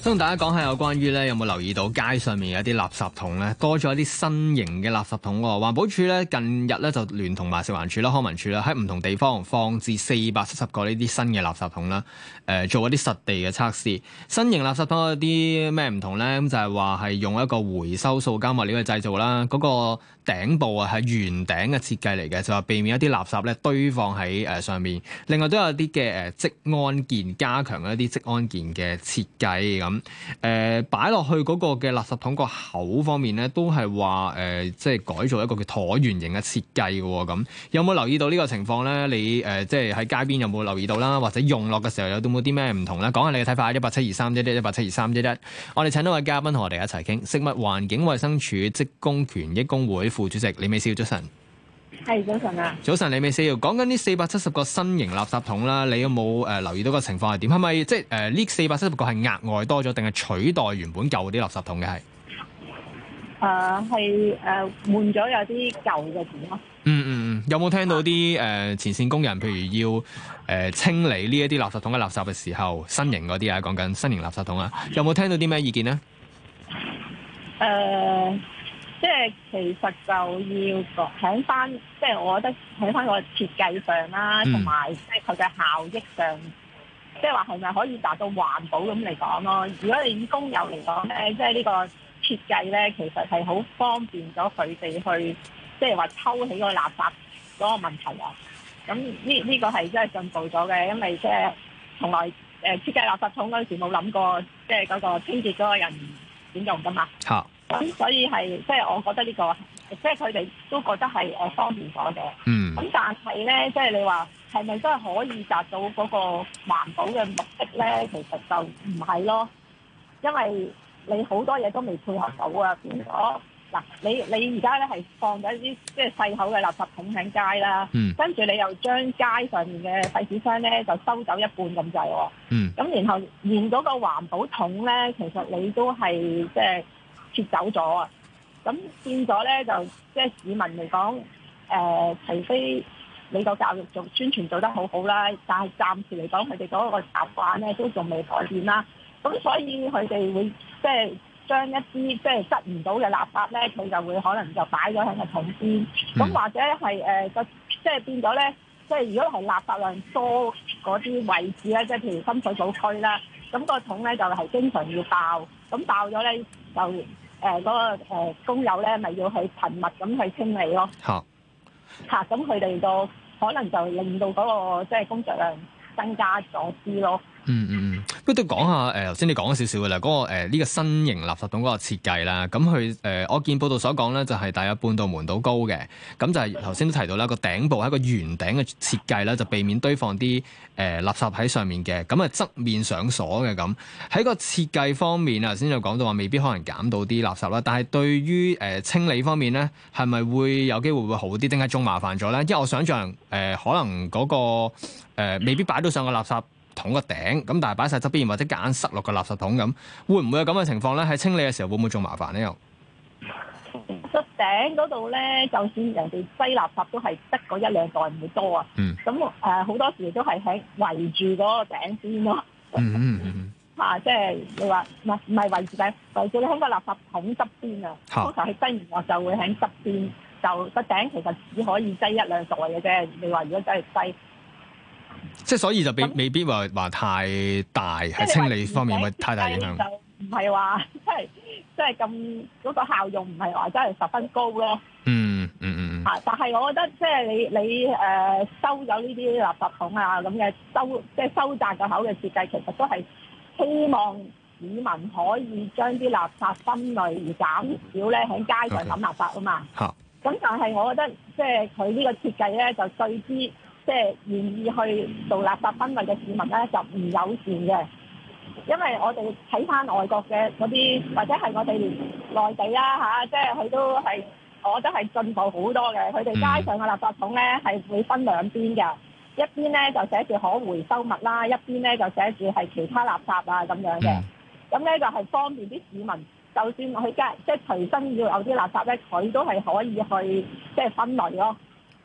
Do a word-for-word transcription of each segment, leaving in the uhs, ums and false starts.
想同大家講下有關於咧，有冇留意到街上面有一啲垃圾桶咧，多咗一啲新型嘅垃圾桶喎。環保署咧近日咧就聯同埋食環署啦、康文署啦，喺唔同地方放置四百七十個呢啲新嘅垃圾桶啦，誒、呃、做一啲實地嘅測試。新型垃圾桶有啲咩唔同咧？咁就係話係用一個回收塑膠物料去製造啦，嗰、那個頂部啊係圓頂嘅設計嚟嘅，就話避免一啲垃圾咧堆放喺誒上面。另外都有啲嘅誒職安健，加強一啲職安健嘅設計咁。誒擺落去嗰個嘅垃圾桶個口方面咧，都係話誒即係改造一個叫橢圓形嘅設計嘅喎。咁有冇留意到呢個情況咧？你誒、呃、即係喺街邊有冇留意到啦？或者用落嘅時候有冇啲咩唔同咧？講下你嘅睇法。一八七二三一一一八七二三一一，我哋請到位嘉賓同我哋一齊傾。食物環境衞生署職工權益工會副主席李美笑，早晨。 係早晨啊！ 早晨，李美笑，講緊呢四百七十個新型垃圾桶啦，你有冇誒、呃、留意到個情況係點？係咪即係誒呢四百七十個係額外多咗，定係取代原本舊啲垃圾桶嘅係？ 誒係誒換咗有啲舊嘅桶咯。嗯嗯嗯，有冇聽到啲誒、呃、前線工人，譬如要誒、呃、清理呢一啲垃圾桶嘅垃圾嘅時候，新型嗰啲啊，講緊新型垃圾桶啊，有冇聽到啲咩意見呢？ 誒、呃。即係其實就要喺翻，即係我覺得喺翻個設計上啦，同埋即係佢嘅效益上，即係話係咪可以達到環保咁嚟講咯？如果你以工友嚟講咧，即係呢個設計咧，其實係好方便咗佢哋去，即係話抽起個垃圾嗰個問題啊。咁呢呢個係真係進步咗嘅，因為即係從來誒設計垃圾桶嗰陣時冇諗過，即係嗰個清潔嗰個人點用㗎嘛。 好。 咁所以係即係我覺得呢、這個，即係佢哋都覺得係誒方便咗嘅。嗯。咁但係咧，即係你話係咪真係可以達到嗰個環保嘅目的咧？其實就唔係咯，因為你好多嘢都未配合到啊。變咗嗱，你你而家咧係放咗一啲即係細口嘅垃圾桶喺街啦。嗯。跟住你又將街上面嘅廢紙箱咧就收走一半咁滯喎。嗯。咁然後連嗰個環保桶咧，其實你都係即係撤走咗啊！咁變咗咧，就即係市民嚟講，誒、呃，除非你個教育做宣傳做得好好啦，但係暫時嚟講，佢哋嗰個習慣咧都仲未改變啦。咁所以佢哋會即係將一啲即係執唔到嘅垃圾咧，佢就會可能就擺咗喺個桶邊。咁、嗯、或者係誒個即係變咗咧，即係如果係垃圾量多嗰啲位置咧，即係譬如深水埗區啦，咁、個桶咧就係、是、經常要爆，咁爆咗咧就。誒嗰、呃那個、呃、工友咧，咪要去頻密咁去清理咯。嚇嚇，咁佢哋個可能就令到嗰、那個即係工作量增加咗啲咯。嗯嗯嗯， 不過都講下誒，頭先你講咗少少嘅啦，嗰、那個呢、呃這個新型垃圾桶嗰個設計啦，咁佢誒我見報道所講咧，就係大約半度門到高嘅，咁就係頭先都提到啦，個頂部係一個圓頂嘅設計啦，就避免堆放啲誒、呃、垃圾喺上面嘅，咁啊側面上鎖嘅咁。喺個設計方面啊，頭先就講到話未必可能減到啲垃圾啦，但係對於誒、呃、清理方面咧，係咪會有機會會好啲，定係仲麻煩咗咧？因為我想象誒、呃、可能嗰、那個、呃、未必擺到上個垃圾桶個頂，咁但係擺晒側邊或者夾硬塞落個垃圾桶咁，會唔會有咁嘅情況咧？喺清理嘅時候會唔會仲麻煩咧？又個頂嗰度咧，就算人哋擠垃圾都係得嗰一兩袋，唔會多啊。嗯。咁誒好多時都係喺圍住嗰個頂邊咯。嗯嗯嗯。嚇！即係你話唔係唔係圍住頂，圍住你喺個垃圾桶側邊啊。通常係擠完落就會喺側邊，就個頂其實只可以擠一兩袋嘅啫。你話如果真係擠。 即係所以就未未必話話太大喺清理方面，會太大影響。 就唔係話即係即係咁嗰個效用唔係話真係十分高咯。嗯嗯嗯。嚇！但係我覺得即係你你誒、呃、收咗呢啲垃圾桶啊咁嘅收即係收窄個口嘅設計，其實都係希望市民可以將啲垃圾分類而減少咧喺街上抌垃圾啊嘛。嚇！咁但係我覺得即係佢呢個設計咧就對之。即係願意去做垃圾分類嘅市民咧，就唔友善嘅，因為我哋睇翻外國嘅嗰啲，或者係我哋內地啦嚇，即係佢都係，我覺得係進步好多嘅。佢哋街上嘅垃圾桶咧係會分兩邊嘅，一邊咧就寫住可回收物啦，一邊咧就寫住係其他垃圾啊咁樣嘅。咁咧就係方便啲市民，就算去街即係隨身要有啲垃圾咧，佢都係可以去即係分類咯。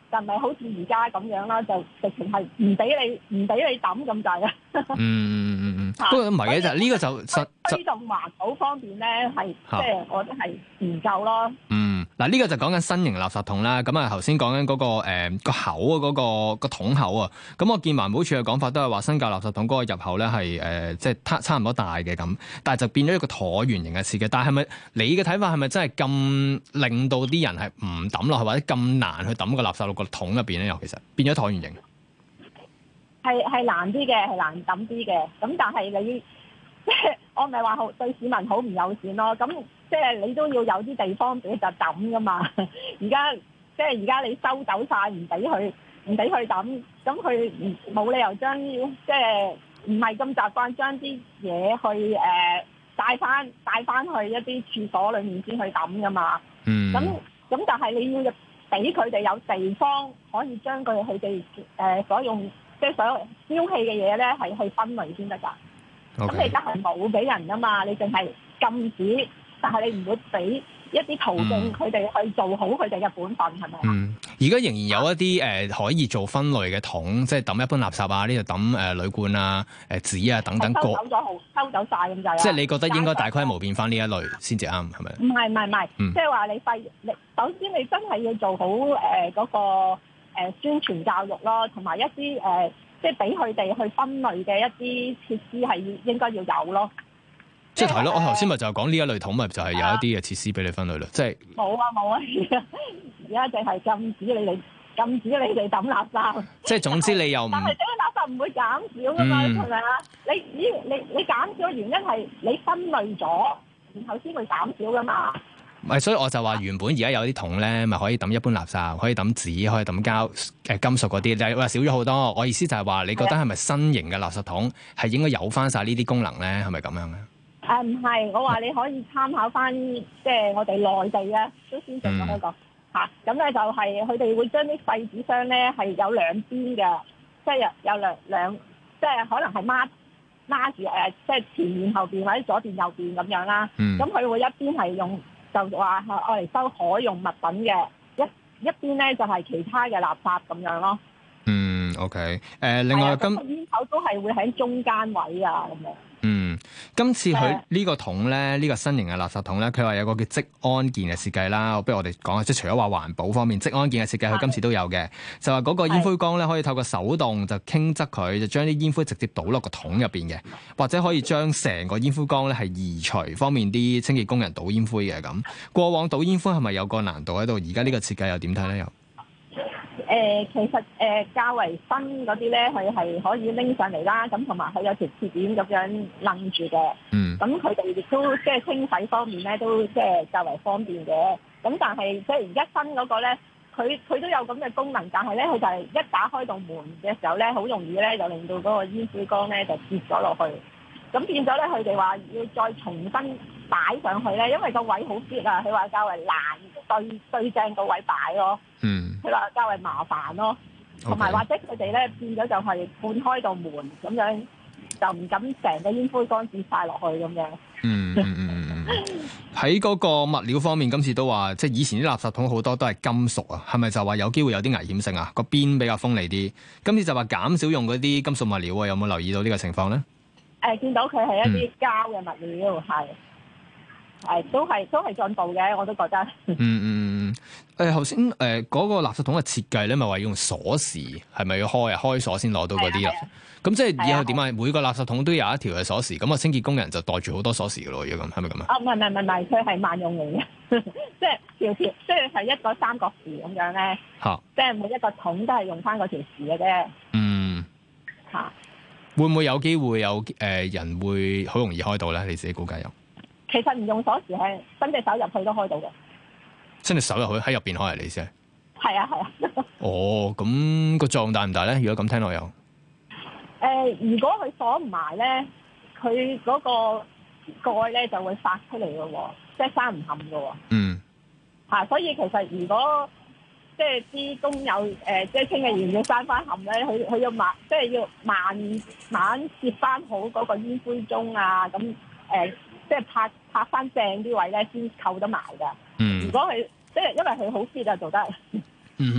就唔係好似而家咁樣啦，就直情係唔俾你唔俾你抌咁滯啊！ 嗯嗯嗯嗯，不過唔係嘅就呢個就實推動環保方面咧，係即係我覺得係唔夠咯。 嗯，嗱、這、呢個就講緊新型垃圾桶啦。咁啊頭先講緊嗰個誒、呃、個口啊，嗰、那個個桶口啊。咁我見環保署嘅講法都係話新舊垃圾桶嗰個入口咧係誒即係差差唔多大嘅咁，但係就變咗一個橢圓形嘅設計。但係係咪你嘅睇法係咪真係咁令到啲人係唔抌落去，或者咁難去抌個垃圾落個桶入邊咧？又其實變咗橢圓形。 係係難啲嘅，係難抌啲嘅。咁但係你即係我唔係話好對市民好唔友善咯。咁即係你都要有啲地方俾佢就抌噶嘛。而家即係而家你收走晒，唔俾佢唔俾佢抌，咁佢冇理由將即係唔係咁習慣將啲嘢去誒帶翻帶翻去一啲廁所裡面先去抌噶嘛。 嗯。咁咁但係你要俾佢哋有地方可以將佢佢哋誒所用。即係所有丟棄嘅嘢咧，係去分類先得㗎。咁 Okay. 你而家係冇俾人㗎嘛？你淨係禁止，但係你唔會俾一啲途徑佢哋去做好佢哋嘅本分，係咪啊？嗯， 而家仍然有一啲誒、呃、可以做分類嘅桶，即係抌一般垃圾啊，呢度抌誒鋁罐啊、誒、呃、紙啊等等。 收走咗好，收走晒咁就係。 即係你覺得應該大規模變翻呢一類先至啱，係咪？ 唔係唔係唔係，即係話你廢，你首先你真係要做好誒嗰、呃那個。誒宣傳教育咯，同埋一啲誒、呃，即係俾佢哋去分類嘅一啲設施係應該要有咯。 即係係咯，我頭先咪就係講呢一類桶，咪就係有一啲嘅設施俾你分類咯。即係冇啊冇啊，而家淨係禁止你哋禁止你哋抌垃圾。即係總之你又唔但係整啲垃圾唔會減少噶嘛，係咪啊？你你你你減少嘅原因係你分類咗，然後先會減少噶嘛。 唔係，所以我就話原本而家有啲桶咧，咪可以抌一般垃圾，可以抌紙，可以抌膠誒金屬嗰啲，但係話少咗好多。我意思就係話，你覺得係咪新型嘅垃圾桶係應該有翻晒呢啲功能咧？係咪咁樣咧？ 誒唔係，我話你可以參考翻，即係我哋內地咧都先進咗一個嚇。咁咧、嗯啊、就係佢哋會將啲廢紙箱咧係有兩邊嘅，即係有有兩兩，即係可能係孖孖住誒，即係前面後邊或者左邊右邊咁樣啦。咁佢、嗯、會一邊係用。就話係愛嚟收可用物品嘅，一一邊咧就係其他嘅垃圾咁樣咯。 嗯 ，OK，誒、呃，另外今煙頭都係會喺中間位啊咁樣。 嗯，今次佢呢個桶咧，呢、這個新型嘅垃圾桶咧，佢話有個叫職安健嘅設計啦。不如我哋講下，即係除咗話環保方面，職安健嘅設計，佢今次都有嘅。就話嗰個煙灰缸咧，可以透過手動就傾側佢，就將啲煙灰直接倒落個桶入邊嘅，或者可以將成個煙灰缸咧係移除，方便啲清潔工人倒煙灰嘅咁。過往倒煙灰係咪有個難度喺度？而家呢個設計又點睇咧？又？ 誒、呃、其實誒、呃、較為新嗰啲咧，佢係可以拎上嚟啦，咁同埋佢有條鐵鏈咁樣擸住嘅。嗯。咁佢哋亦都即係清洗方面咧，都即係較為方便嘅。咁但係即係而家新嗰個咧，佢佢都有咁嘅功能，但係咧佢就係一打開道門嘅時候咧，好容易咧就令到嗰個煙灰缸咧就跌咗落去。咁變咗咧，佢哋話要再重新擺上去咧，因為個位好跌啊，佢話較為難對對正個位擺咯。嗯。佢話較為麻煩咯，同埋 Okay. 或者佢哋咧變咗就係半開道門咁樣，就唔敢成個煙灰缸跌晒落去咁樣。嗯嗯嗯嗯。 喺嗰個物料方面，今次都話即係以前啲垃圾桶好多都係金屬啊，係咪就話有機會有啲危險性啊？個邊比較鋒利啲，今次就話減少用嗰啲金屬物料啊，有冇留意到呢個情況咧？誒、 呃，見到佢係一啲膠嘅物料，係、嗯。係都係都係進步嘅，我都覺得。嗯嗯嗯。 誒頭先誒嗰個垃圾桶嘅設計咧，咪話要用鎖匙，係咪要開啊？開鎖先攞到嗰啲啊？咁即係以後點啊？每個垃圾桶都有一條嘅鎖匙，咁啊清潔工人就袋住好多鎖匙嘅咯，如果咁係咪咁啊？啊唔係唔係唔係，佢係萬用型嘅，即係條條，即係係一個三角匙咁樣咧。嚇、啊！即係每一個桶都係用翻嗰條匙嘅啫。嗯。嚇、啊！會唔會有機會有誒、呃、人會好容易開到咧？你自己估計有？ 其實唔用鎖匙係伸隻手入去都開到嘅。 伸隻手入去喺入邊開嚟先。 係啊係啊。 哦，咁個作用大唔大咧？如果咁聽落有。誒、 呃，如果佢鎖唔埋咧，佢嗰個蓋咧就會發出嚟嘅喎，即係閂唔冚嘅喎。嗯。嚇、啊！所以其實如果即係啲工友誒、呃，即係清潔員要閂翻冚咧，佢佢要慢，即係要慢慢接翻好嗰個煙灰盅啊，咁誒。呃即係拍拍翻正啲位咧，先扣得埋㗎。嗯，如果佢即係因為佢好 fit 啊，做得。嗯嗯嗯嗯。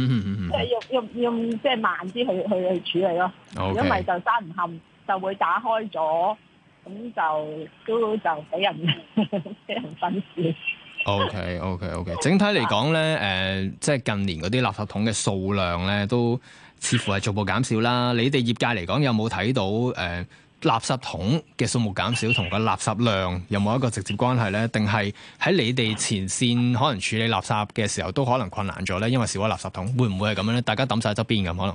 即係要要要即係慢啲去去去處理咯。如果唔係就閂唔冚，就會打開咗，咁就都就俾人俾人分屍。 O K O K O K， 整體嚟講咧，誒、呃，即係近年嗰啲垃圾桶嘅數量咧，都似乎係逐步減少啦。你哋業界嚟講，有冇睇到誒、呃、垃圾桶嘅數目減少同個垃圾量有冇一個直接關係咧？定係喺你哋前線可能處理垃圾嘅時候都可能困難咗咧？因為少咗垃圾桶，會唔會係咁樣咧？大家抌晒側邊咁可能？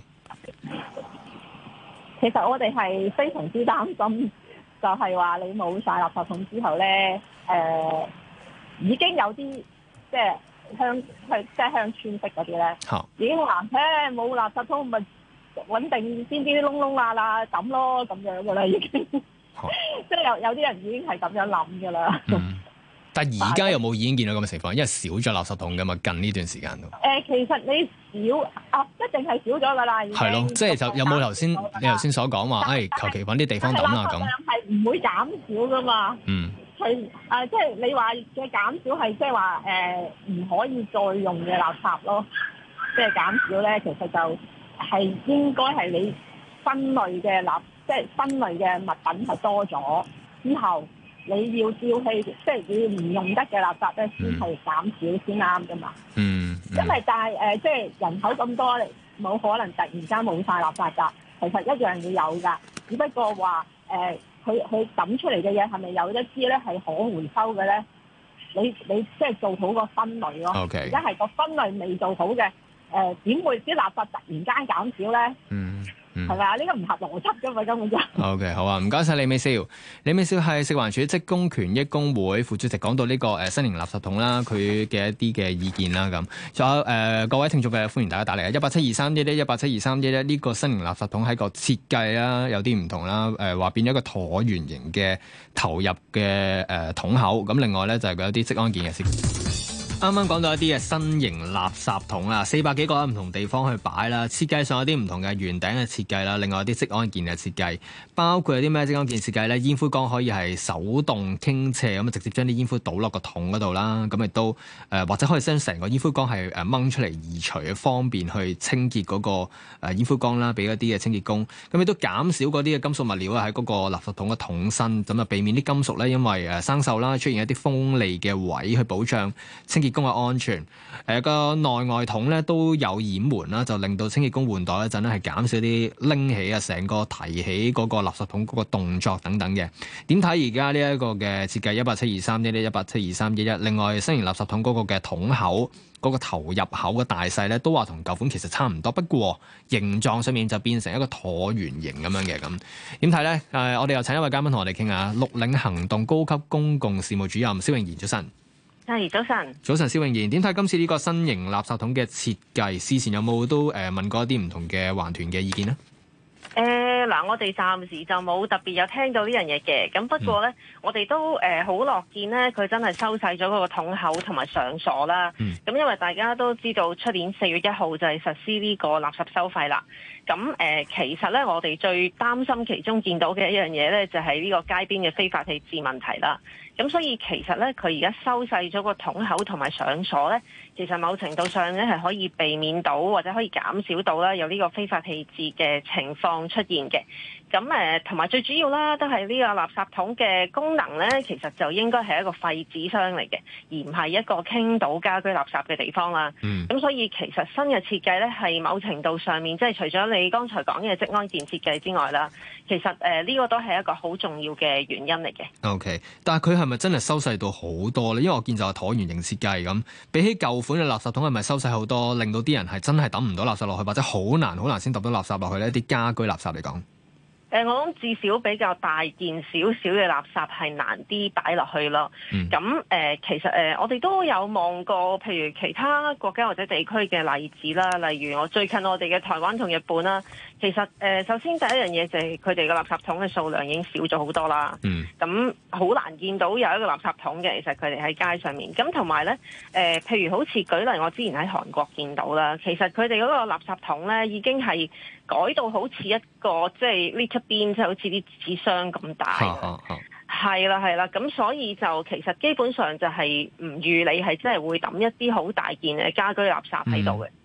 其實我哋係非常之擔心，就係話你冇晒垃圾桶之後咧，誒、呃。已經有啲即係鄉去即係鄉村式嗰啲咧，已經話誒冇垃圾桶咪穩定先啲窿窿罅罅抌咯咁樣噶啦，已經即係有有啲人已經係咁樣諗噶啦。 嗯，但係而家有冇已經見到咁嘅情況？因為少咗垃圾桶噶嘛，近呢段時間都。誒、 呃，其實你少啊，一定係少咗噶啦。 係咯，即係就有冇頭先你頭先所講話，誒求其揾啲地方抌啦咁。 係唔會減少噶嘛？嗯。佢誒、呃，即係你話嘅減少係即係話誒唔可以再用嘅垃圾咯，即係減少咧，其實就係應該係你分類嘅垃，即係分類嘅物品係多咗之後，你要丟棄，即係你唔用得嘅垃圾咧，先係減少先啱噶嘛。嗯，嗯因為但係誒，即係人口咁多，冇可能突然間冇晒垃圾㗎，其實一樣要有㗎，只不過話誒。呃佢佢抌出嚟嘅嘢係咪有一啲咧係可回收嘅咧？你你即係做好個分類咯。而家係個分類未做好嘅，誒點會啲垃圾突然間減少咧？嗯。係咪啊？呢個唔合邏輯㗎嘛，根本就。O K， 好啊，唔該晒李美笑。李美笑係食環署職工權益工會副主席，講到呢個誒新型垃圾桶啦，佢嘅一啲嘅意見啦咁。仲有誒、呃、各位聽眾嘅歡迎大家打嚟啊！一八七二三一一一八七二三一一呢個新型垃圾桶喺個設計啦有啲唔同啦，誒、呃、話變咗一個橢圓形嘅投入嘅誒桶口。咁另外咧就係佢有啲職安健嘅事。啱啱講到一啲嘅新型垃圾桶啦，四百幾個喺唔同地方去擺啦，設計上有啲唔同嘅圓頂嘅設計啦，另外有啲職安健嘅設計，包括有啲咩職安健設計咧？煙灰缸可以係手動傾斜咁啊，直接將啲煙灰倒落個桶嗰度啦，咁亦都誒、呃、或者可以將成個煙灰缸係誒掹出嚟移除，方便去清潔嗰個誒煙灰缸啦，俾一啲嘅清潔工，咁亦都減少嗰啲嘅金屬物料啊喺嗰個垃圾桶嘅桶身，咁啊避免啲金屬咧因為誒生鏽啦，出現一啲鋒利嘅位去保障清潔工嘅安全，誒、呃、個內外桶咧都有掩門啦，就令到清潔工換袋嗰陣咧係減少啲拎起啊，成個提起嗰個垃圾桶嗰個動作等等嘅。點睇而家呢一個嘅設計一八七二三一一一八七二三一一？另外新型垃圾桶嗰個嘅桶口嗰、嗰個投入口嘅大細咧，都話同舊款其實差唔多，不過形狀上面就變成一個橢圓形咁樣嘅咁。點睇咧？誒、呃，我哋又請一位嘉賓同我哋傾下，綠領行動高級公共事務主任蕭頴妍，早晨。 係早晨， 早晨，蕭頴妍，點睇今次呢個新型垃圾桶嘅設計？事前有冇都誒問過一啲唔同嘅環團嘅意見呢？ 誒、呃、嗱，我哋暫時就冇特別有聽到呢樣嘢嘅，咁不過咧，嗯、我哋都誒好樂見咧，佢真係收細咗嗰個桶口同埋上鎖啦。咁、嗯、因為大家都知道，出年四月一號就係實施呢個垃圾收費啦。咁誒、呃，其實咧，我哋最擔心其中見到嘅一樣嘢咧，就係、是、呢個街邊嘅非法棄置問題啦。咁所以其實咧，佢而家收細咗個桶口同埋上鎖咧，其實某程度上咧係可以避免到或者可以減少到啦有呢個非法棄置嘅情況出現嘅。咁誒同埋最主要啦，都係呢個垃圾桶嘅功能咧，其實就應該係一個廢紙箱嚟嘅，而唔係一個傾倒家居垃圾嘅地方啦。咁、嗯、所以其實新嘅設計咧，係某程度上面即係除咗你剛才講嘅職安健設計之外啦，其實誒呢、呃這個都係一個好重要嘅原因嚟嘅。 OK， 但係佢係咪真係收細到好多咧？因為我見就係橢圓形設計咁，比起舊款嘅垃圾桶係咪收細好多，令到啲人係真係抌唔到垃圾落去，或者好難好難先抌到垃圾落去呢？一啲家居垃圾嚟講。 誒、呃，我諗至少比較大件少少嘅垃圾係難啲擺落去咯。咁誒、嗯呃，其實誒、呃，我哋都有望過，譬如其他國家或者地區嘅例子啦，例如我最近我哋嘅台灣同日本啦。其實誒、呃，首先第一樣嘢就係佢哋嘅垃圾桶嘅數量已經少咗好多啦。咁好、嗯、難見到有一個垃圾桶嘅，其實佢哋喺街上面。咁同埋咧，誒、呃，譬如好似舉例，我之前喺韓國見到啦，其實佢哋嗰個垃圾桶咧已經係改到好似一個即係 litter bin，即係好似啲紙箱咁大。係啦係啦，咁所以就其實基本上就係唔預你係真係會抌一啲好大件嘅家居垃圾喺度嘅。 嗯，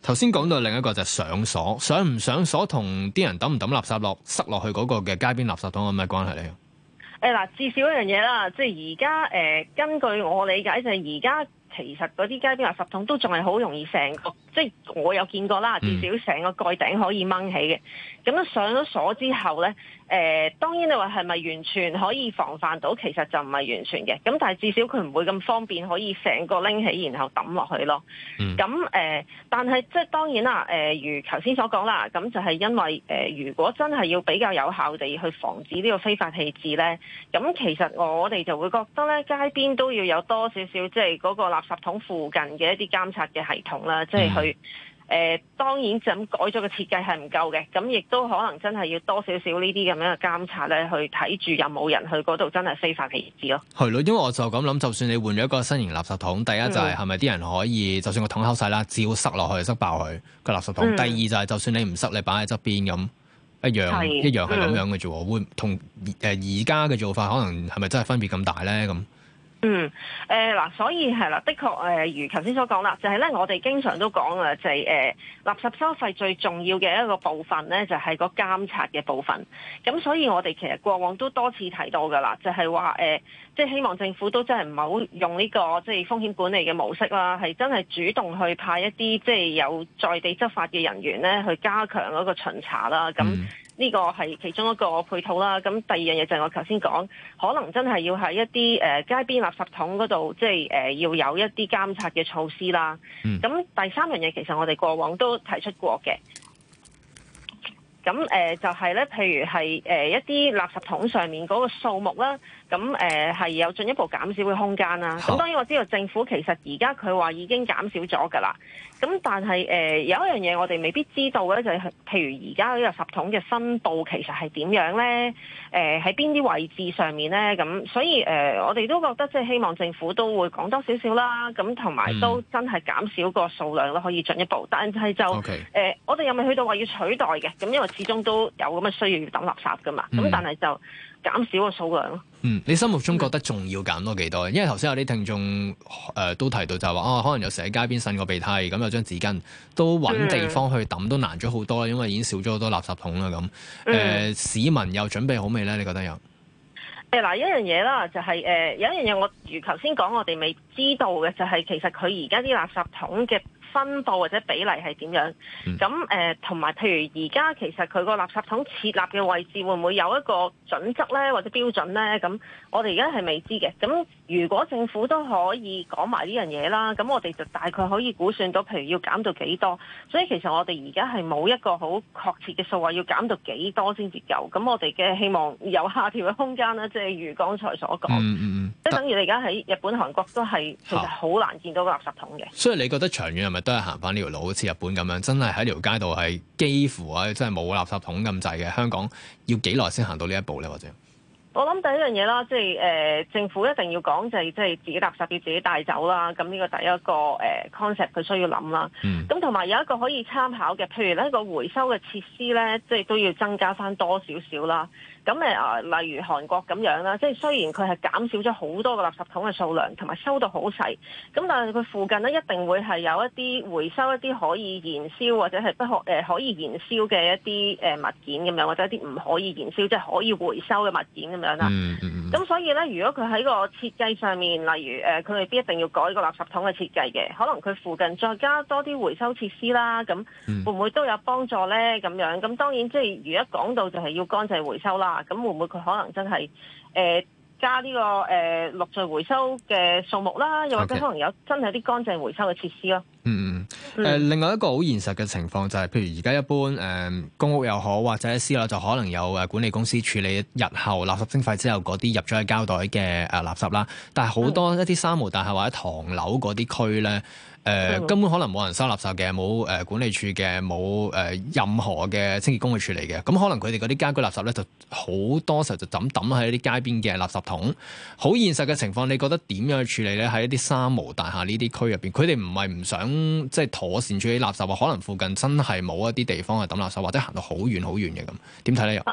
頭先講到另一個就係上鎖，上唔上鎖同啲人抌唔抌垃圾落塞落去嗰個嘅街邊垃圾桶有咩關係咧？ 誒嗱，至少一樣嘢啦，即係而家誒，根據我理解就係而家其實嗰啲街邊垃圾桶都仲係好容易成個，即係我有見過啦，至少成個蓋頂可以掹起嘅。咁樣上咗鎖之後咧，誒、呃、當然你話係咪完全可以防範到？其實就唔係完全嘅。咁但係至少佢唔會咁方便可以成個拎起然後抌落去咯。咁誒、嗯呃，但係即係當然啦，誒、呃、如頭先所講啦，咁就係因為誒、呃、如果真係要比較有效地去防止呢個非法棄置咧，咁其實我哋就會覺得咧，街邊都要有多少少即係嗰個垃圾桶附近嘅一啲監察嘅系統啦，即係去。誒、呃、當然就咁改咗個設計係唔夠嘅，咁亦都可能真係要多少少呢啲咁樣嘅監察咧，去睇住有冇人去嗰度真係非法棄置咯。 係咯，因為我就咁諗，就算你換咗一個新型垃圾桶，第一就係係咪啲人可以，就算個桶口細啦，照塞落去塞爆佢個垃圾桶。嗯、第二就係、是、就算你唔塞，你擺喺側邊咁一樣是一樣係咁樣嘅啫喎。嗯、會同誒而家嘅做法可能係咪真係分別咁大咧？咁？ 嗯，誒、呃、嗱，所以係啦，的確誒、呃，如頭先所講啦，就係、是、咧，我哋經常都講啊，就係、是、誒、呃、垃圾收費最重要嘅一個部分咧，就係、是、個監察嘅部分。咁所以我哋其實過往都多次提到噶啦，就係話誒，即係希望政府都真係唔好用呢、這個即係、就是、風險管理嘅模式啦，係真係主動去派一啲即係有在地執法嘅人員咧，去加強嗰個巡查啦。咁、嗯呢個係其中一個配套啦，咁第二樣嘢就係我頭先講，可能真係要喺一啲誒、呃、街邊垃圾桶嗰度，即係誒、呃、要有一啲監察嘅措施啦。咁、嗯、第三樣嘢其實我哋過往都提出過嘅，咁誒、呃、就係、是、咧，譬如係誒、呃、一啲垃圾桶上面嗰個數目啦。咁誒係有進一步減少嘅空間啦。咁好當然我知道政府其實而家佢話已經減少咗㗎啦。咁但係誒、呃、有一樣嘢我哋未必知道嘅就係、是，譬如而家呢個垃圾桶嘅分佈其實係點樣咧？誒喺邊啲位置上面咧？咁所以誒、呃、我哋都覺得即係希望政府都會講多少少啦。咁同埋都真係減少個數量咯，可以進一步。但係就誒 Okay.、呃、我哋又未去到話要取代嘅。咁因為始終都有咁嘅需要要抌垃圾㗎嘛。咁、嗯、但係就減少個數量咯。 嗯，你心目中覺得仲要減多幾多？因為頭先有啲聽眾誒、呃、都提到就係話啊，可能有時喺街邊擤個鼻涕，咁有張紙巾都揾地方去抌都難咗好多啦，因為已經少咗好多垃圾桶啦咁。誒、呃，市民又準備好未咧？你覺得有？ 誒嗱，一樣嘢啦，就係、是、誒、呃、有一樣嘢，我如頭先講，我哋未知道嘅就係、是、其實佢而家啲垃圾桶嘅分佈或者比例係點樣？咁誒同埋譬如而家其實佢個垃圾桶設立嘅位置會唔會有一個準則咧，或者標準咧？咁我哋而家係未知嘅。咁如果政府都可以講埋呢樣嘢啦，咁我哋就大概可以估算到，譬如要減到幾多。所以其實我哋而家係冇一個好確切嘅數話要減到幾多先至夠。咁我哋嘅希望有下調嘅空間啦，即係如剛才所講， 嗯嗯嗯， 即係等於你而家喺日本、韓國都係其實好難見到個垃圾桶嘅。 所以你覺得長遠係咪都係行翻呢條路，好似日本咁樣，真係喺條街度係幾乎啊，真係冇垃圾桶咁滯嘅？香港要幾耐先行到呢一步咧？或者？ 我諗第一樣嘢啦，即係誒、呃、政府一定要講就係即係自己垃圾要自己帶走啦。咁呢個第一個誒、呃、concept 佢需要諗啦。咁同埋有一個可以參考嘅，譬如呢個回收嘅設施咧，即係都要增加翻多少少啦。咁誒啊，例如韓國咁樣啦，即係雖然佢係減少咗好多個垃圾桶嘅數量，同埋收到好細，咁但係佢附近咧一定會係有一啲回收一啲可以燃燒或者係不可誒、呃、可以燃燒嘅一啲誒物件咁樣，或者一啲唔可以燃燒即係可以回收嘅物件咁樣啦。嗯嗯嗯。咁所以咧，如果佢喺個設計上面，例如誒，佢未必一定要改個垃圾桶嘅設計嘅，可能佢附近再加多啲回收設施啦，咁會唔會都有幫助咧？咁樣咁當然即係如果講到就係要乾淨回收啦。咁會唔會佢可能真係誒、呃、加呢、這個誒綠在回收嘅數目啦？又或者可能有真係啲乾淨回收嘅設施咯？ 嗯嗯誒、呃，另外一個好現實嘅情況就係、是，譬如而家一般誒、呃、公屋又好，或者私樓就可能有誒管理公司處理日後垃圾徵費之後嗰啲入咗去膠袋嘅誒垃圾啦。但係好多一啲三無大廈或者唐樓嗰啲區咧。誒、呃嗯、根本可能冇人收垃圾嘅，冇誒、呃、管理處嘅，冇誒、呃、任何嘅清潔工去處理嘅，咁可能佢哋嗰啲家居垃圾咧就好多時候就抌抌喺啲街邊嘅垃圾桶。好現實嘅情況，你覺得點樣去處理咧？喺一啲三無大廈呢啲區入邊，佢哋唔係唔想即係妥善處理垃圾，可能附近真係冇一啲地方去抌垃圾，或者行到好遠好遠嘅咁，點睇咧？又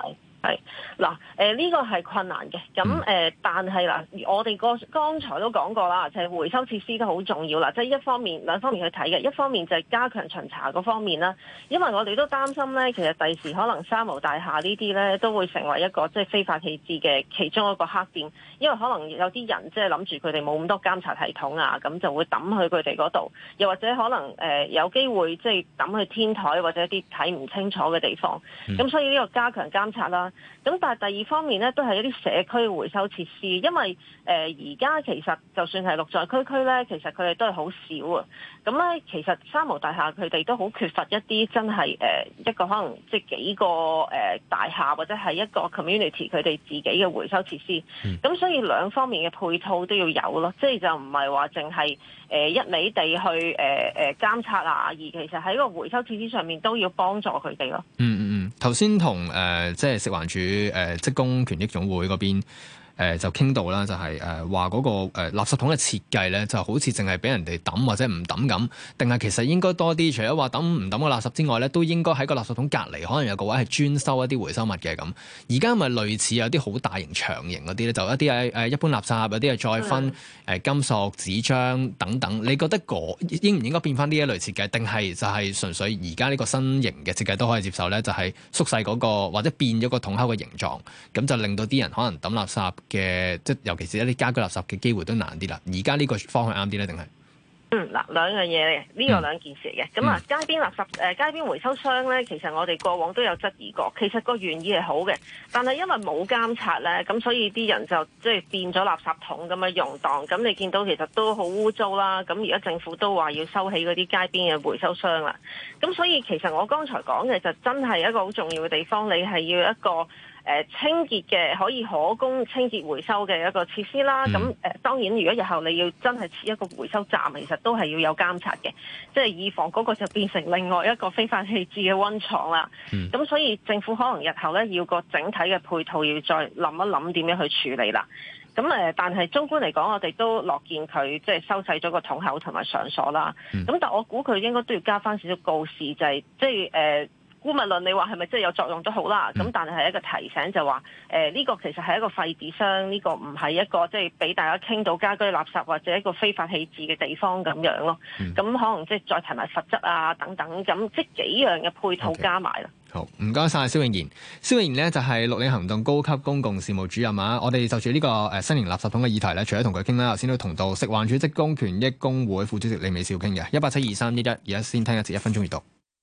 係嗱，誒呢個係困難嘅，咁誒、呃，但係嗱，我哋個剛才都講過啦，就係、是、回收設施都好重要啦，即、就、係、是、一方面兩方面去睇嘅，一方面就係加強巡查嗰方面啦，因為我哋都擔心咧，其實第時可能三無大廈呢啲咧都會成為一個即係非法棄置嘅其中一個黑點，因為可能有啲人即係諗住佢哋冇咁多監察系統啊，咁就會抌去佢哋嗰度，又或者可能誒、呃、有機會即係抌去天台或者一啲睇唔清楚嘅地方，咁、嗯、所以呢個加強監察啦。咁但係第二方面咧，都係一啲社區回收設施，因為誒而家其實就算係綠在區區咧，其實佢哋都係好少啊。咁咧，其實三無大廈佢哋都好缺乏一啲真係誒、呃、一個可能即係幾個誒、呃、大廈或者係一個 community 佢哋自己嘅回收設施。咁、嗯、所以兩方面嘅配套都要有咯，即係就唔係話淨係誒一味地去誒誒、呃、監察啊，而其實喺個回收設施上面都要幫助佢哋咯。 嗯嗯嗯，頭先同誒即係食環署誒職工權益總會嗰邊。誒、呃、就傾到啦，就係誒話嗰個誒、呃、垃圾桶嘅設計咧，就好似淨係俾人哋抌或者唔抌咁，定係其實應該多啲，除咗話抌唔抌個垃圾之外咧，都應該喺個垃圾桶隔離，可能有個位係專收一啲回收物嘅咁。而家咪類似有啲好大型長型嗰啲咧，就一啲係誒一般垃圾，有啲係再分誒、呃、金屬、紙張等等。你覺得嗰應唔應該變翻呢一類設計，定係就係純粹而家呢個新型嘅設計都可以接受咧？就係、是、縮細嗰、那個或者變咗個桶口嘅形狀，咁就令到啲人可能抌垃圾嘅，即係尤其是一啲家居垃圾嘅機會都難啲啦。而家呢個方向啱啲咧，定係？ 嗯，嗱兩樣嘢嚟嘅，呢個兩件事嚟嘅。咁、嗯、啊，街邊垃圾誒、呃、街邊回收箱咧，其實我哋過往都有質疑過。其實個原意係好嘅，但係因為冇監察咧，咁所以啲人就即係變咗垃圾桶咁樣用當。咁你見到其實都好污糟啦。咁而家政府都話要收起嗰啲街邊嘅回收箱啦。咁所以其實我剛才講嘅就真係一個好重要嘅地方，你係要一個。誒、呃、清潔嘅可以可供清潔回收嘅一個設施啦，咁誒、呃、當然如果日後你要真係設一個回收站，其實都係要有監察嘅，即係以防嗰個就變成另外一個非法棄置嘅溫床啦。咁、嗯、所以政府可能日後咧要個整體嘅配套要再諗一諗點樣去處理啦。咁誒、呃，但係綜觀嚟講，我哋都樂見佢即係收細咗個桶口同埋上鎖啦。咁、嗯、但我估佢應該都要加翻少少告示，就係、是、即係誒。呃姑勿論你話係咪真係有作用都好啦，咁、嗯、但係係一個提醒就話，誒、呃、呢、這個其實係一個廢紙箱，呢、這個唔係一個即係俾大家傾到家居垃圾或者一個非法棄置嘅地方咁樣咯。咁、嗯、可能即係再提埋罰則啊等等，咁即係幾樣嘅配套加埋啦。 Okay. 好，唔該晒蕭頴妍。蕭頴妍呢就係綠領行動高級公共事務主任啊。我哋就住呢個誒新型垃圾桶嘅議題咧，除咗同佢傾啦，頭先都同到食環署職工權益工會副主席李美笑傾嘅。一八七二三一一，而家先聽一節一分鐘閱讀。